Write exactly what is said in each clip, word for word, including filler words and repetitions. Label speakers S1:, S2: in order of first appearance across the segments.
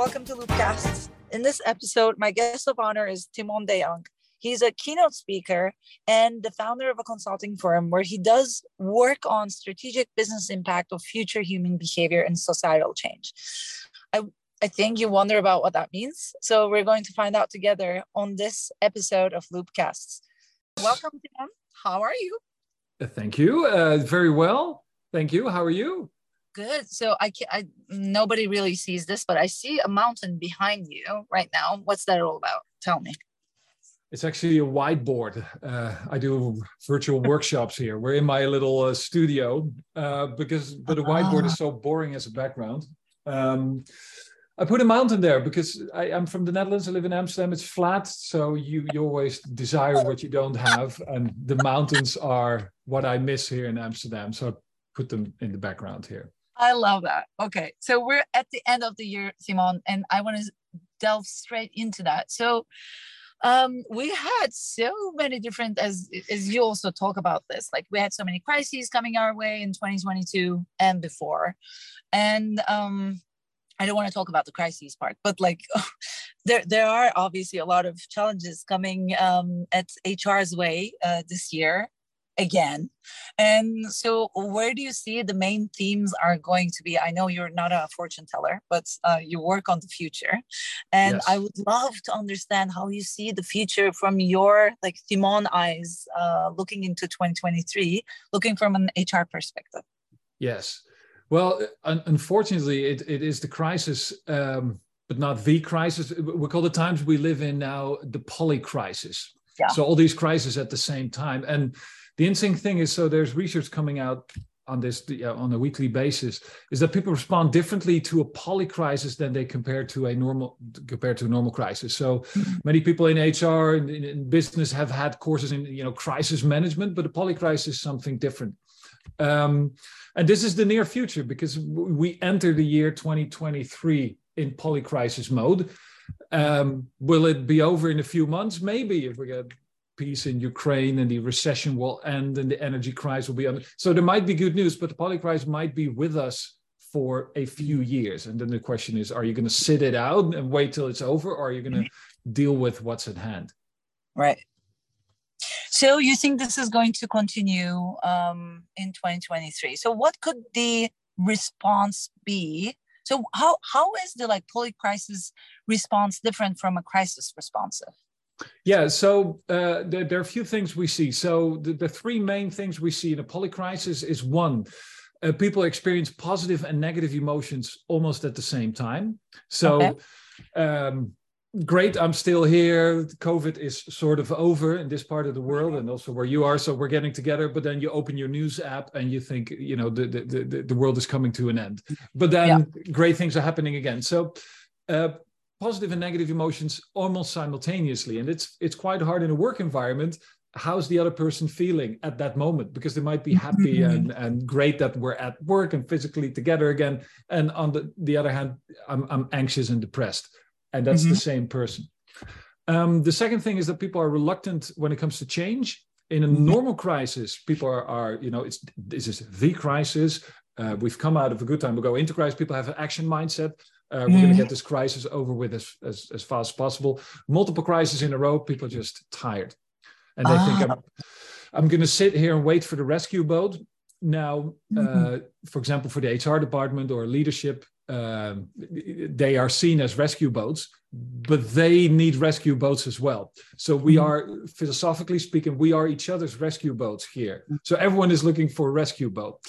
S1: welcome to Loopcasts. In this episode, my guest of honor is Timon de Jong. He's a keynote speaker and the founder of a consulting firm where he does work on strategic business impact of future human behavior and societal change. I, I think you wonder about what that means. So we're going to find out together on this episode of Loopcasts. Welcome, Timon. How are you?
S2: Uh, thank you. Uh, very well. Thank you. How are you?
S1: Good. So I, I nobody really sees this, but I see a mountain behind you right now. What's that all about? Tell me.
S2: It's actually a whiteboard. Uh, I do virtual workshops here. We're in my little uh, studio uh, because, but the whiteboard is so boring as a background. Um, I put a mountain there because I, I'm from the Netherlands. I live in Amsterdam. It's flat, so you, you always desire what you don't have, and the mountains are what I miss here in Amsterdam. So I put them in the background here.
S1: I love that. Okay, so we're at the end of the year, Timon, and I want to delve straight into that. So um, we had so many different, as as you also talk about this, like we had so many crises coming our way in twenty twenty-two and before. And um, I don't want to talk about the crises part, but like there, there are obviously a lot of challenges coming um, at H R's way uh, this year. Again. And so where do you see the main themes are going to be? I know you're not a fortune teller, but uh, you work on the future. And yes. I would love to understand how you see the future from your like Timon eyes, uh, looking into twenty twenty-three, looking from an H R perspective.
S2: Yes. Well, un- unfortunately, it, it is the crisis, um, but not the crisis. We call the times we live in now the poly crisis. Yeah. So all these crises at the same time. And the interesting thing is, so there's research coming out on this uh, on a weekly basis, is that people respond differently to a poly crisis than they compare to a normal compared to a normal crisis. So mm-hmm. many people in H R and in, in business have had courses in you know crisis management, but a poly crisis is something different. Um, and this is the near future because we enter the year twenty twenty-three in poly crisis mode. Um, will it be over in a few months? Maybe if we get peace in Ukraine and the recession will end and the energy crisis will be under. So there might be good news, but the poly crisis might be with us for a few years. And then the question is, are you going to sit it out and wait till it's over, or are you going to deal with what's at hand?
S1: Right. So you think this is going to continue um, in twenty twenty-three? So what could the response be? So how how is the like poly crisis response different from a crisis responsive?
S2: Yeah, so uh, there, there are a few things we see. So the, the three main things we see in a poly crisis is one, uh, people experience positive and negative emotions almost at the same time. So okay. um, great, I'm still here. COVID is sort of over in this part of the world and also where you are. So we're getting together, but then you open your news app and you think, you know, the, the, the, the world is coming to an end. But then yeah. great things are happening again. So uh, positive and negative emotions almost simultaneously. And it's it's quite hard in a work environment. How's the other person feeling at that moment? Because they might be happy and, and great that we're at work and physically together again. And on the, the other hand, I'm, I'm anxious and depressed. And that's mm-hmm. the same person. Um, the second thing is that people are reluctant when it comes to change. In a normal crisis, people are, are you know, it's this is the crisis. Uh, we've come out of a good time. We go into crisis. People have an action mindset. Uh, we're mm. going to get this crisis over with as, as, as fast as possible. Multiple crises in a row, people are just tired. And they ah. think, I'm, I'm going to sit here and wait for the rescue boat. Now, mm-hmm. uh, for example, for the H R department or leadership, um, they are seen as rescue boats, but they need rescue boats as well. So we mm. are, philosophically speaking, we are each other's rescue boats here. So everyone is looking for a rescue boat,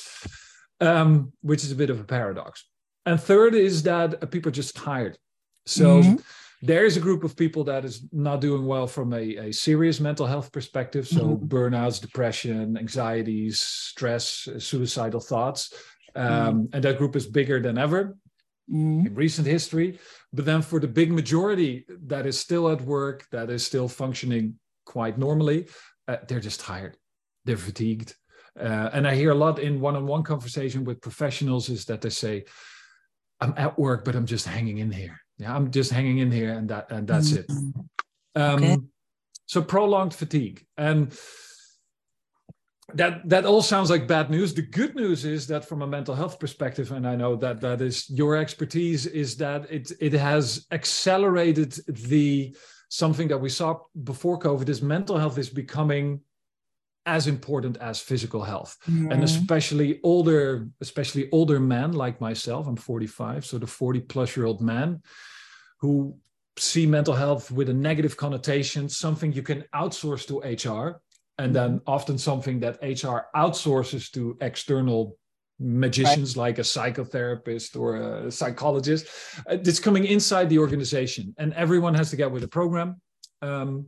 S2: um, which is a bit of a paradox. And third is that people are just tired. So mm-hmm. there is a group of people that is not doing well from a, a serious mental health perspective. So mm-hmm. burnouts, depression, anxieties, stress, suicidal thoughts. Um, mm-hmm. And that group is bigger than ever mm-hmm. in recent history. But then for the big majority that is still at work, that is still functioning quite normally, uh, they're just tired. They're fatigued. Uh, and I hear a lot in one-on-one conversation with professionals is that they say, I'm at work, but I'm just hanging in here. Yeah, I'm just hanging in here, and that and that's it. Um, okay. So prolonged fatigue, and that that all sounds like bad news. The good news is that from a mental health perspective, and I know that that is your expertise, is that it it has accelerated the something that we saw before COVID. Is mental health is becoming as important as physical health. Mm-hmm. And especially older, especially older men like myself. I'm forty-five, so the forty plus year old man who see mental health with a negative connotation, something you can outsource to H R, and then often something that H R outsources to external magicians, right, like a psychotherapist or a psychologist. It's coming inside the organization, and everyone has to get with the program. Um,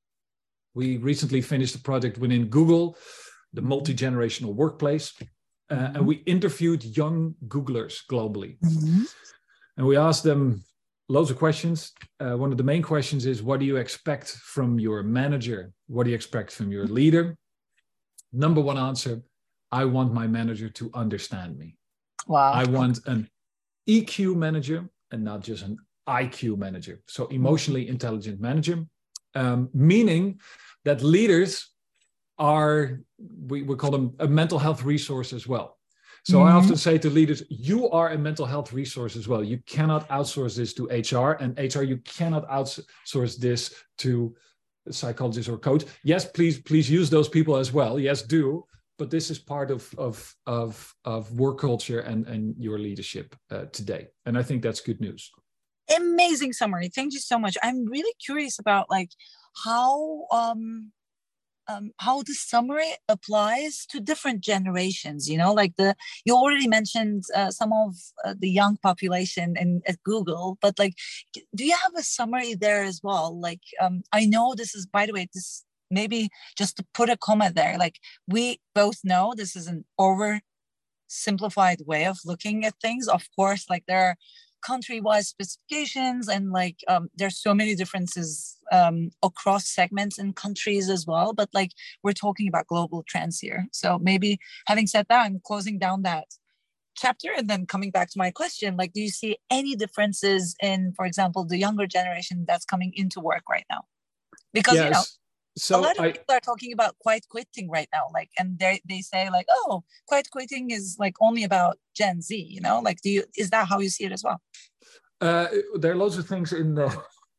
S2: we recently finished a project within Google, the multi-generational workplace, uh, mm-hmm. and we interviewed young Googlers globally. Mm-hmm. And we asked them loads of questions. Uh, one of the main questions is, what do you expect from your manager? What do you expect from your leader? Number one answer, I want my manager to understand me.
S1: Wow.
S2: I want an E Q manager and not just an I Q manager. So emotionally intelligent manager, um, meaning that leaders are, we, we call them a mental health resource as well. So mm-hmm. I often say to leaders, you are a mental health resource as well. You cannot outsource this to H R, and H R, you cannot outsource this to a psychologist or coach. Yes, please, please use those people as well. Yes, do. But this is part of, of, of, of work culture and, and your leadership uh, today. And I think that's good news.
S1: Amazing summary. Thank you so much. I'm really curious about like how um, um, how the summary applies to different generations. You know, like the you already mentioned uh, some of uh, the young population in at Google, but like, do you have a summary there as well? Like, um, I know this is, by the way, this maybe just to put a comma there. Like, we both know this is an oversimplified way of looking at things. Of course, like there are country-wise specifications, and like um, there's so many differences um, across segments and countries as well. But like we're talking about global trends here. So maybe having said that, I'm closing down that chapter and then coming back to my question. Like, do you see any differences in, for example, the younger generation that's coming into work right now? Because yes. you know. So a lot of I, people are talking about quiet quitting right now, like, and they they say like, oh, quiet quitting is like only about Gen Z, you know, like, do you, is that how you see it as well?
S2: Uh, there are loads of things in there.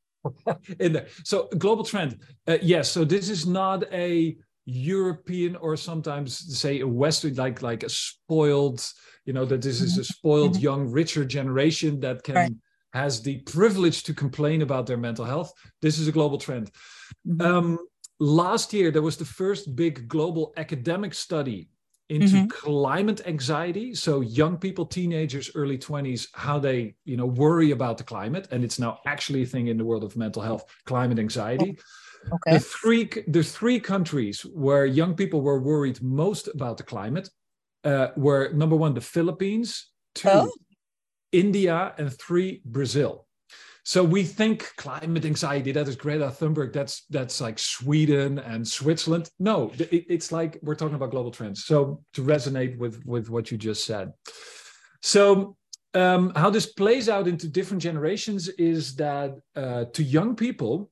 S2: in there. So global trend, uh, yes. So this is not a European or sometimes say a Western, like like a spoiled, you know, that this is a spoiled mm-hmm. young, richer generation that can. Right. has the privilege to complain about their mental health. This is a global trend. Mm-hmm. Um, last year, there was the first big global academic study into mm-hmm. climate anxiety. So young people, teenagers, early twenties, how they, you know, worry about the climate. And it's now actually a thing in the world of mental health, climate anxiety.
S1: Okay.
S2: The three, the three countries where young people were worried most about the climate uh, were number one, the Philippines, two, oh. India, and three, Brazil. So we think climate anxiety, that is Greta Thunberg, that's that's like Sweden and Switzerland. No, it, it's like we're talking about global trends. So to resonate with, with what you just said. So um, how this plays out into different generations is that uh, to young people,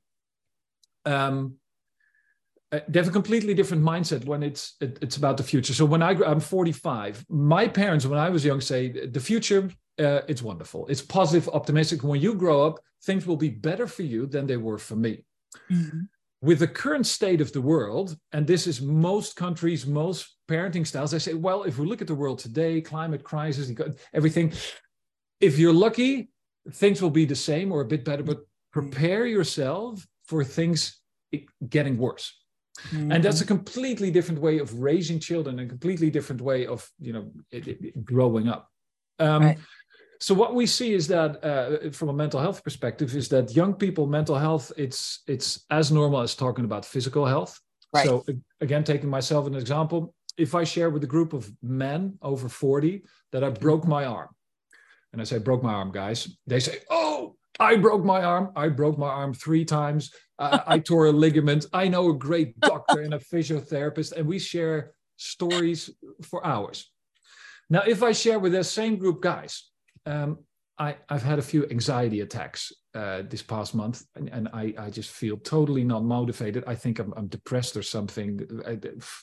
S2: um, they have a completely different mindset when it's it, it's about the future. So when I, I'm forty-five, my parents, when I was young, say the future, Uh, it's wonderful. It's positive, optimistic. When you grow up, things will be better for you than they were for me. Mm-hmm. With the current state of the world, and this is most countries, most parenting styles, I say, well, if we look at the world today, climate crisis, everything, if you're lucky, things will be the same or a bit better, but prepare yourself for things getting worse. Mm-hmm. And that's a completely different way of raising children, a completely different way of, you know, it, it, growing up. Um, right. So what we see is that uh, from a mental health perspective is that young people, mental health, it's it's as normal as talking about physical health. Right. So again, taking myself as an example, if I share with a group of men over forty that I broke my arm, and I say, broke my arm, guys, they say, oh, I broke my arm. I broke my arm three times. Uh, I tore a ligament. I know a great doctor and a physiotherapist, and we share stories for hours. Now, if I share with that same group guys, um, I, I've had a few anxiety attacks uh, this past month, and, and I, I just feel totally not motivated. I think I'm, I'm depressed or something. I,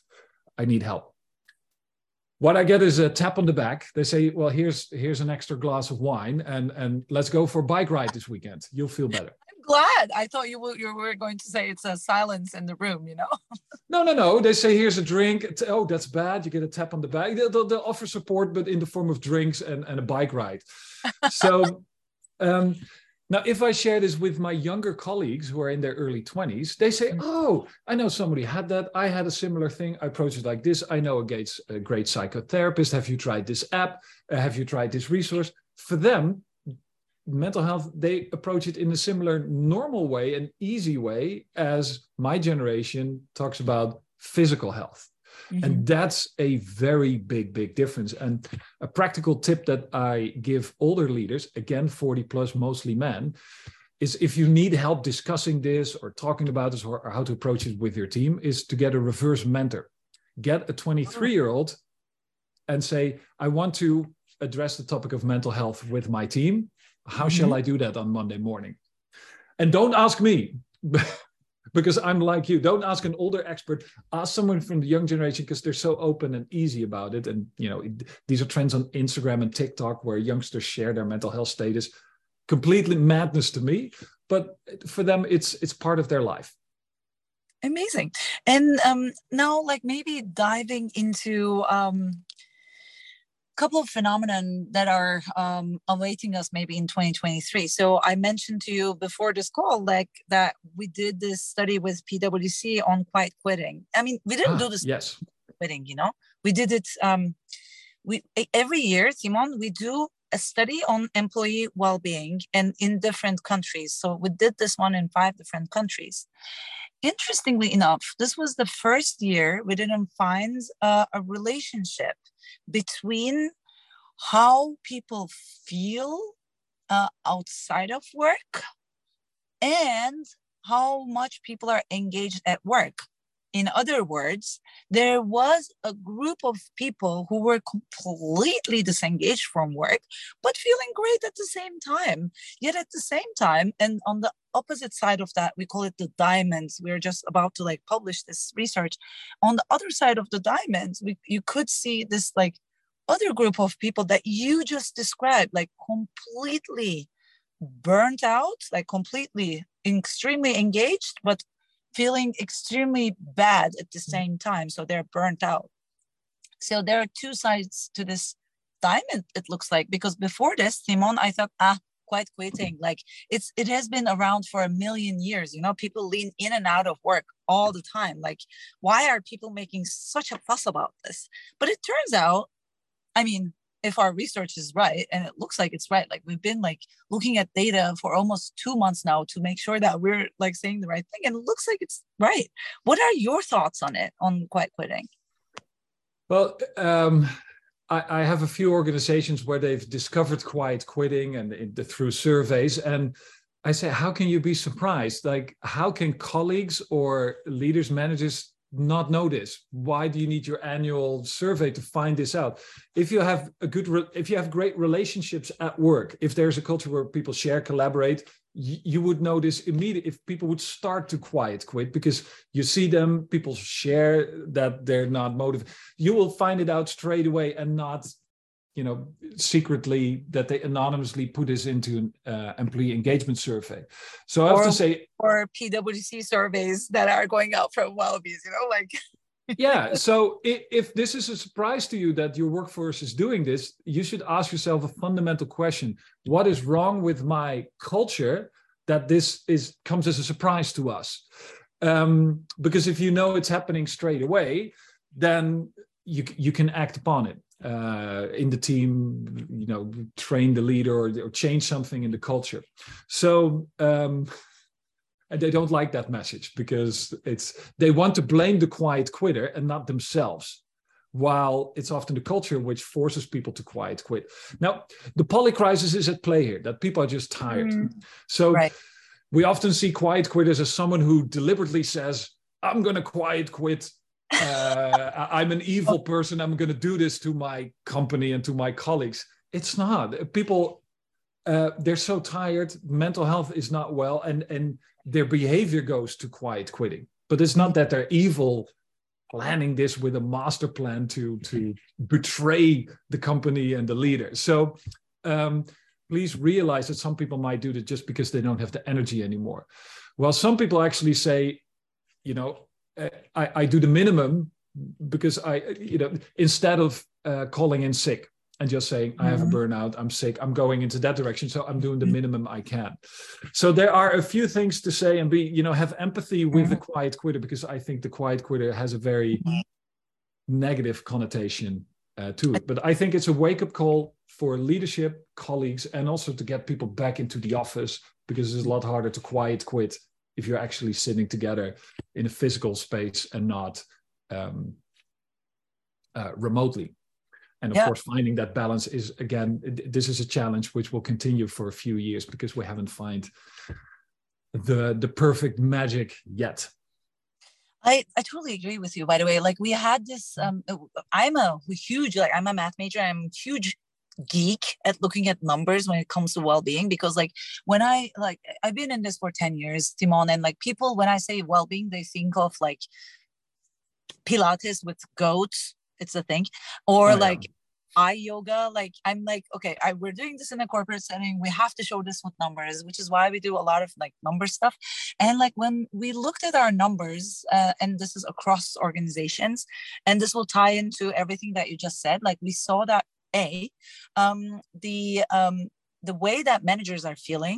S2: I need help. What I get is a tap on the back. They say, well, here's here's an extra glass of wine, and and let's go for a bike ride this weekend. You'll feel better.
S1: I'm glad. I thought you were, you were going to say it's a silence in the room, you know?
S2: No, no, no. They say, here's a drink. It's, oh, that's bad. You get a tap on the back. They'll, they'll, they'll offer support, but in the form of drinks and, and a bike ride. So um, now, if I share this with my younger colleagues who are in their early twenties, they say, oh, I know somebody had that. I had a similar thing. I approach it like this. I know a great, a great psychotherapist. Have you tried this app? Uh, have you tried this resource? For them, mental health, they approach it in a similar normal way, an easy way, as my generation talks about physical health. Mm-hmm. And that's a very big, big difference. And a practical tip that I give older leaders, again, forty plus, mostly men, is if you need help discussing this or talking about this, or, or how to approach it with your team, is to get a reverse mentor. Get a twenty-three-year-old and say, I want to address the topic of mental health with my team. How mm-hmm. shall I do that on Monday morning? And don't ask me. Because I'm like you. Don't ask an older expert. Ask someone from the young generation, because they're so open and easy about it. And, you know, it, these are trends on Instagram and TikTok where youngsters share their mental health status. Completely madness to me. But for them, it's it's part of their life.
S1: Amazing. And um, now, like, maybe diving into um, a couple of phenomena that are um, awaiting us maybe in twenty twenty-three. So I mentioned to you before this call, like, that we did this study with P W C on quiet quitting. I mean, we didn't
S2: ah,
S1: do this
S2: yes.
S1: quitting, you know, we did it. Um, we every year, Simon, we do a study on employee well-being, and in different countries. So we did this one in five different countries. Interestingly enough, this was the first year we didn't find uh, a relationship between how people feel uh, outside of work and how much people are engaged at work. In other words, there was a group of people who were completely disengaged from work, but feeling great at the same time. Yet at the same time, and on the opposite side of that, we call it the diamonds. We're just about to like publish this research. On the other side of the diamonds, we, you could see this like other group of people that you just described, like completely burnt out, like completely extremely engaged, but feeling extremely bad at the same time. So they're burnt out. So there are two sides to this diamond, it looks like, because before this, Simon, I thought, ah, quiet quitting, like it's it has been around for a million years. You know, people lean in and out of work all the time. Like, why are people making such a fuss about this? But it turns out, I mean, if our research is right, and it looks like it's right, like we've been like looking at data for almost two months now to make sure that we're like saying the right thing, and it looks like it's right. What are your thoughts on it, on quiet quitting?
S2: Well, um, I, I have a few organizations where they've discovered quiet quitting and in the, through surveys, and I say, how can you be surprised? Like, how can colleagues or leaders, managers not know this? Why do you need your annual survey to find this out? If you have a good, re- if you have great relationships at work, if there's a culture where people share, collaborate, y- you would know this immediately. If people would start to quiet quit because you see them, people share that they're not motivated, you will find it out straight away, and not, you know, secretly that they anonymously put this into an uh, employee engagement survey. So I have
S1: or,
S2: to say,
S1: or P W C surveys that are going out from Wellbees, you know, like.
S2: Yeah. So if, if this is a surprise to you that your workforce is doing this, you should ask yourself a fundamental question. What is wrong with my culture that this is comes as a surprise to us? Um, because if you know it's happening straight away, then you, you can act upon it. Uh, in the team, you know, train the leader or, or change something in the culture. So, um, and they don't like that message because it's they want to blame the quiet quitter and not themselves, while it's often the culture which forces people to quiet quit. Now, the polycrisis is at play here, that people are just tired. Mm, so right. We often see quiet quitters as someone who deliberately says, I'm going to quiet quit. uh, I'm an evil person. I'm going to do this to my company and to my colleagues. It's not. People, uh, they're so tired. Mental health is not well, and and their behavior goes to quiet quitting. But it's not that they're evil planning this with a master plan to, to betray the company and the leader. So um, please realize that some people might do that just because they don't have the energy anymore. Well, some people actually say, you know, I, I do the minimum because I, you know, instead of uh, calling in sick and just saying, I have a burnout, I'm sick, I'm going into that direction. So I'm doing the minimum I can. So there are a few things to say, and be, you know, have empathy with the quiet quitter, because I think the quiet quitter has a very negative connotation uh, to it. But I think it's a wake-up call for leadership, colleagues, and also to get people back into the office, because it's a lot harder to quiet quit if you're actually sitting together in a physical space and not um, uh, remotely. And of
S1: yeah.
S2: course, finding that balance is, again, this is a challenge which will continue for a few years because we haven't found the, the perfect magic yet.
S1: I, I totally agree with you, by the way. Like we had this, um, I'm a huge, like I'm a math major. I'm a huge geek at looking at numbers when it comes to well-being, because like when I, like, I've been in this for ten years, Timon, and like people, when I say well-being, they think of like Pilates with goats. It's a thing, or oh, like yeah. eye yoga. Like I'm like, okay, I, we're doing this in a corporate setting. We have to show this with numbers, which is why we do a lot of like number stuff. And like when we looked at our numbers, uh, and this is across organizations, and this will tie into everything that you just said. Like we saw that a um, the um, the way that managers are feeling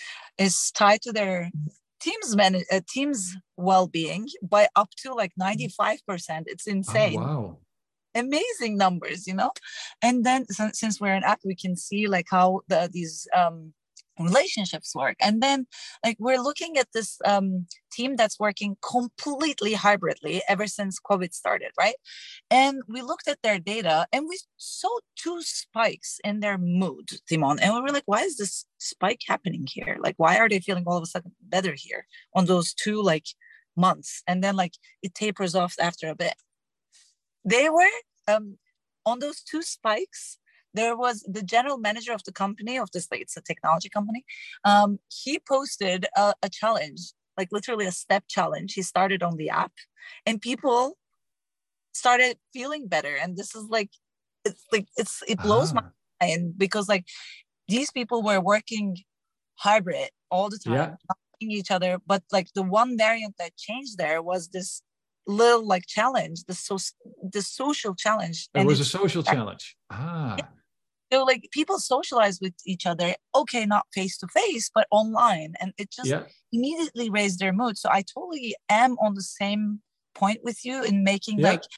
S1: is tied to their teams man uh, teams well-being by up to like ninety-five percent. It's insane.
S2: Oh, wow.
S1: Amazing numbers, you know. And then so, since we're an app, we can see like how the these um relationships work. And then like we're looking at this um team that's working completely hybridly ever since COVID started, right? And we looked at their data and we saw two spikes in their mood, Timon, and we were like, why is this spike happening here? Like, why are they feeling all of a sudden better here on those two like months? And then like it tapers off after a bit. They were um, on those two spikes. There was the general manager of the company, of this, like it's a technology company. Um, he posted a, a challenge, like literally a step challenge. He started on the app, and people started feeling better. And this is like, it's like it's it blows ah. my mind, because like these people were working hybrid all the time, yeah. not seeing each other. But like the one variant that changed there was this little like challenge, the so the social challenge.
S2: It was a social challenge. Ah.
S1: So like people socialize with each other, okay, not face to face, but online, and it just yeah. immediately raised their mood. So I totally am on the same point with you in making yeah. like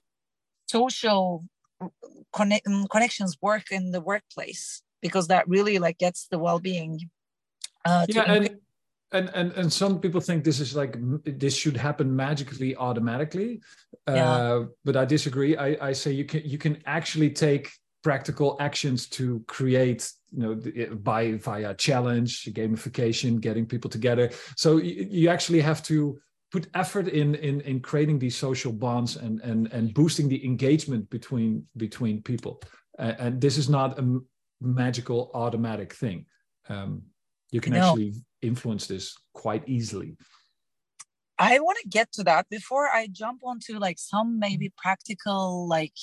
S1: social connect, connections work in the workplace, because that really like gets the well-being. Uh,
S2: yeah, and, and and and some people think this is like this should happen magically, automatically, yeah. uh, but I disagree. I, I say you can you can actually take practical actions to create, you know, by via challenge, gamification, getting people together. So you, you actually have to put effort in in in creating these social bonds and and and boosting the engagement between between people. Uh, and this is not a magical automatic thing. Um, you can no. actually influence this quite easily.
S1: I want to get to that before I jump onto like some maybe practical like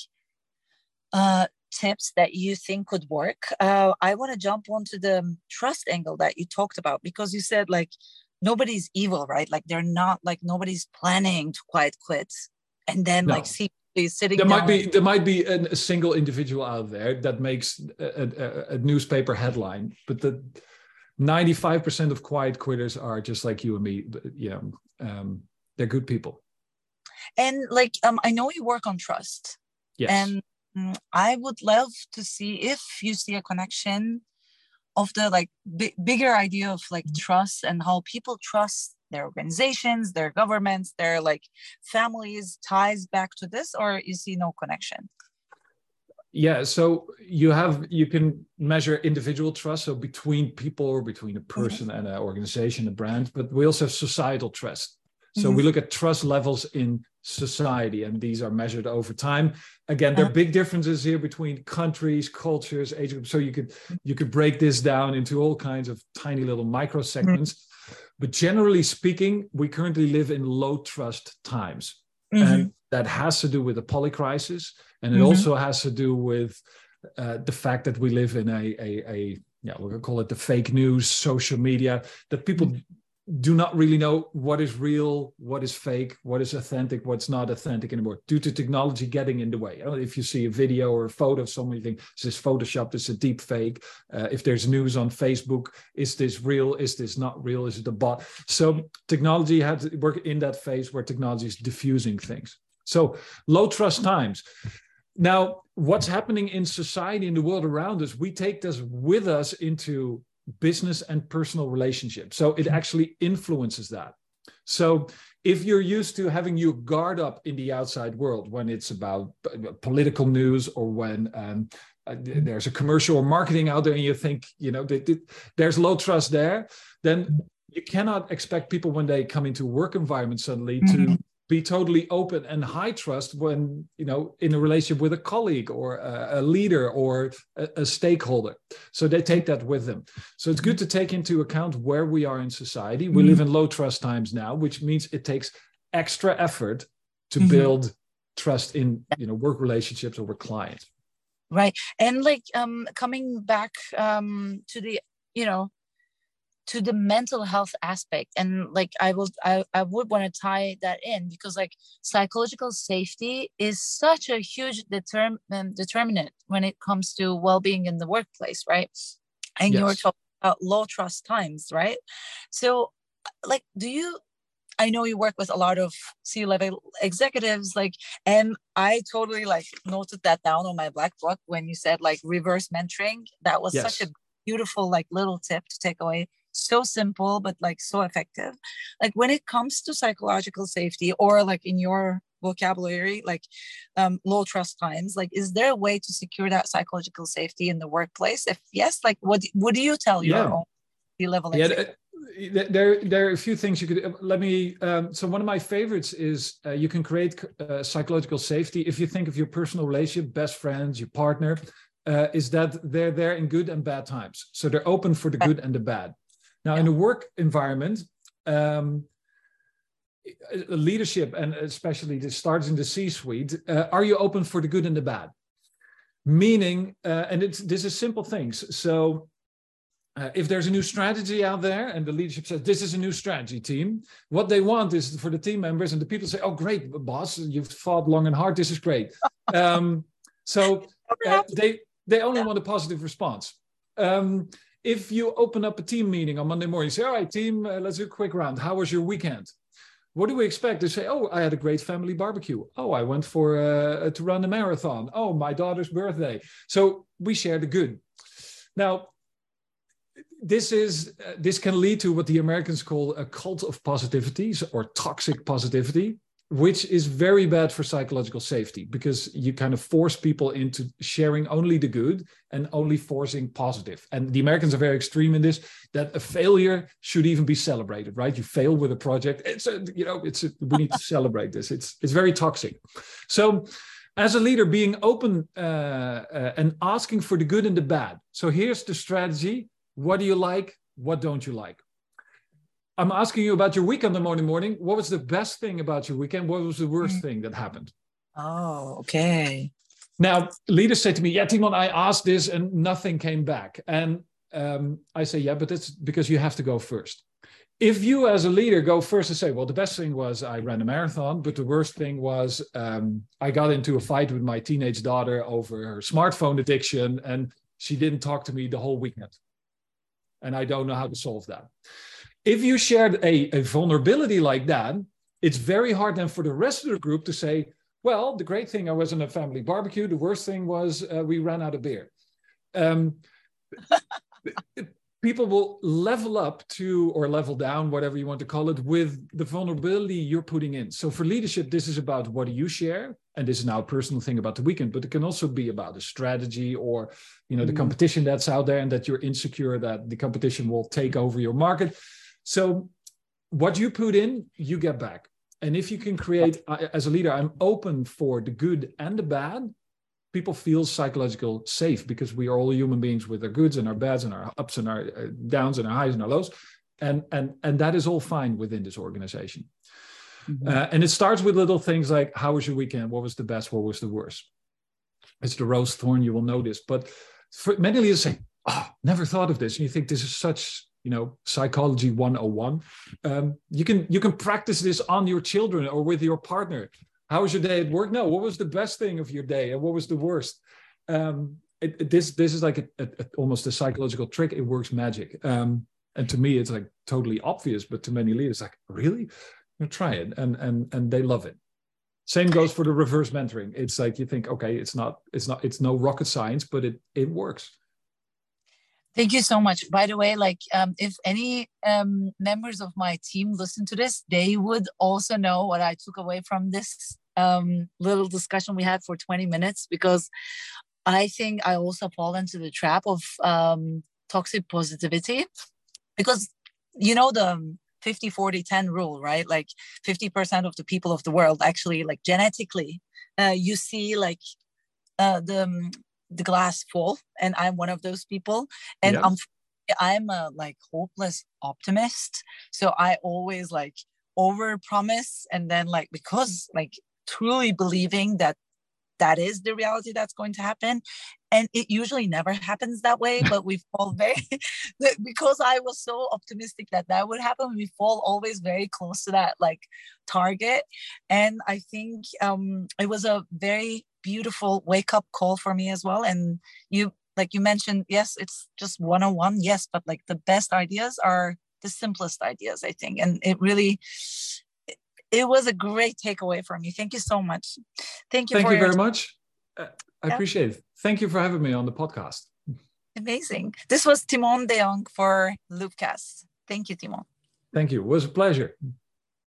S1: uh tips that you think could work. uh I want to jump onto the trust angle that you talked about, because you said like nobody's evil, right? Like they're not like nobody's planning to quiet quit and then no. like see sitting
S2: there
S1: down.
S2: might be there might be an, a single individual out there that makes a, a, a newspaper headline, but the ninety-five percent of quiet quitters are just like you and me. Yeah, um, they're good people.
S1: And like um I know you work on trust.
S2: Yes.
S1: And I would love to see if you see a connection of the like b- bigger idea of like trust and how people trust their organizations, their governments, their like families, ties back to this, or you see no connection?
S2: Yeah, so you have you can measure individual trust, so between people or between a person mm-hmm. and an organization, a brand, but we also have societal trust. So mm-hmm. we look at trust levels in society, and these are measured over time. Again, there are big differences here between countries, cultures, age groups. So you could you could break this down into all kinds of tiny little micro segments. Mm-hmm. But generally speaking, we currently live in low trust times. Mm-hmm. And that has to do with the polycrisis, and it
S1: Mm-hmm.
S2: also has to do with uh, the fact that we live in a, a, a yeah, we're going to call it the fake news, social media, that people mm-hmm. do not really know what is real, what is fake, what is authentic, what's not authentic anymore, due to technology getting in the way. If you see a video or a photo of somebody, you think, is this Photoshopped, is it deep fake? Uh, if there's news on Facebook, is this real? Is this not real? Is it a bot? So technology had to work in that phase where technology is diffusing things. So low trust times. Now, what's happening in society, in the world around us, we take this with us into business and personal relationships. So it actually influences that. So if you're used to having your guard up in the outside world, when it's about political news or when um, uh, there's a commercial or marketing out there and you think, you know, that, that there's low trust there, then you cannot expect people when they come into a work environment suddenly mm-hmm. to be totally open and high trust when, you know, in a relationship with a colleague or a, a leader or a, a stakeholder. So they take that with them. So it's good to take into account where we are in society. We mm-hmm. live in low trust times now, which means it takes extra effort to mm-hmm. build trust in, you know, work relationships or with clients.
S1: Right. And like um, coming back um, to the, you know, to the mental health aspect, and like I will I, I would want to tie that in, because like psychological safety is such a huge determ- um, determinant when it comes to well-being in the workplace, right? And yes. You're talking about low trust times, right? So like, do you I know you work with a lot of C-level executives, like, and I totally like noted that down on my black book when you said like reverse mentoring. That was yes. such a beautiful like little tip to take away. So simple, but like so effective. Like when it comes to psychological safety, or like in your vocabulary, like um, low trust times, like is there a way to secure that psychological safety in the workplace? If yes, like what, what do you tell your yeah. own C-level executives?
S2: Yeah, there, there are a few things you could, let me, um, so one of my favorites is uh, you can create uh, psychological safety. If you think of your personal relationship, best friends, your partner, uh, is that they're there in good and bad times. So they're open for the good and the bad. Now, yeah. in a work environment, um, leadership, and especially this starts in the C-suite, uh, are you open for the good and the bad? Meaning, uh, and it's, this is simple things. So uh, if there's a new strategy out there and the leadership says, this is a new strategy, team, what they want is for the team members and the people say, oh, great, boss, you've thought long and hard, this is great. Um, so uh, they, they only want a positive response. Um, If you open up a team meeting on Monday morning, you say, all right, team, uh, let's do a quick round. How was your weekend? What do we expect? They say, oh, I had a great family barbecue. Oh, I went for uh, to run a marathon. Oh, my daughter's birthday. So we share the good. Now, this is uh, this can lead to what the Americans call a cult of positivity or toxic positivity, which is very bad for psychological safety, because you kind of force people into sharing only the good and only forcing positive. And the Americans are very extreme in this, that a failure should even be celebrated, right? You fail with a project. It's a, you know, it's a, we need to celebrate this. It's, it's very toxic. So as a leader, being open uh, uh, and asking for the good and the bad. So here's the strategy. What do you like? What don't you like? I'm asking you about your weekend the morning morning. What was the best thing about your weekend? What was the worst mm. thing that happened?
S1: Oh, okay.
S2: Now, leaders say to me, yeah, Timon, I asked this and nothing came back. And um, I say, yeah, but that's because you have to go first. If you as a leader go first and say, well, the best thing was I ran a marathon, but the worst thing was um, I got into a fight with my teenage daughter over her smartphone addiction and she didn't talk to me the whole weekend. And I don't know how to solve that. If you shared a, a vulnerability like that, it's very hard then for the rest of the group to say, well, the great thing, I was in a family barbecue. The worst thing was uh, we ran out of beer. Um, people will level up to, or level down, whatever you want to call it, with the vulnerability you're putting in. So for leadership, this is about what do you share? And this is now a personal thing about the weekend, but it can also be about a strategy or, you know, the competition that's out there and that you're insecure that the competition will take over your market. So what you put in, you get back. And if you can create, as a leader, I'm open for the good and the bad, people feel psychological safe, because we are all human beings with our goods and our bads and our ups and our downs and our highs and our lows. And, and, and that is all fine within this organization. Mm-hmm. Uh, and it starts with little things like, how was your weekend? What was the best? What was the worst? It's the rose thorn, you will notice. But for many leaders say, oh, never thought of this. And you think this is such, you know, psychology one oh one. Um, you can you can practice this on your children or with your partner. How was your day at work? No, what was the best thing of your day? And what was the worst? Um, it, it, this this is like a, a, a, almost a psychological trick. It works magic. Um, and to me, it's like totally obvious. But to many leaders, like, really? You try it. And, and, and they love it. Same goes for the reverse mentoring. It's like you think, okay, it's not, it's not, it's no rocket science, but it it works.
S1: Thank you so much. By the way, like um, if any um, members of my team listen to this, they would also know what I took away from this um, little discussion we had for twenty minutes, because I think I also fall into the trap of um, toxic positivity, because you know the fifty forty ten rule, right? Like fifty percent of the people of the world actually, like genetically, uh, you see like uh, the the glass full, and I'm one of those people. And yeah. I'm I'm a like hopeless optimist, so I always like over promise, and then like because like truly believing that that is the reality that's going to happen, and it usually never happens that way. But we fall very because I was so optimistic that that would happen, we fall always very close to that like target. And I think um it was a very beautiful wake-up call for me as well. And you like you mentioned, yes, it's just one oh one, yes, but like the best ideas are the simplest ideas, I think. And it really it, it was a great takeaway from you. Thank you so much. Thank you
S2: thank
S1: for
S2: you
S1: your
S2: very much. uh, I yeah. appreciate it. Thank you for having me on the podcast.
S1: Amazing. This was Timon de Jong for Loopcast. Thank you, Timon.
S2: Thank you. It was a pleasure.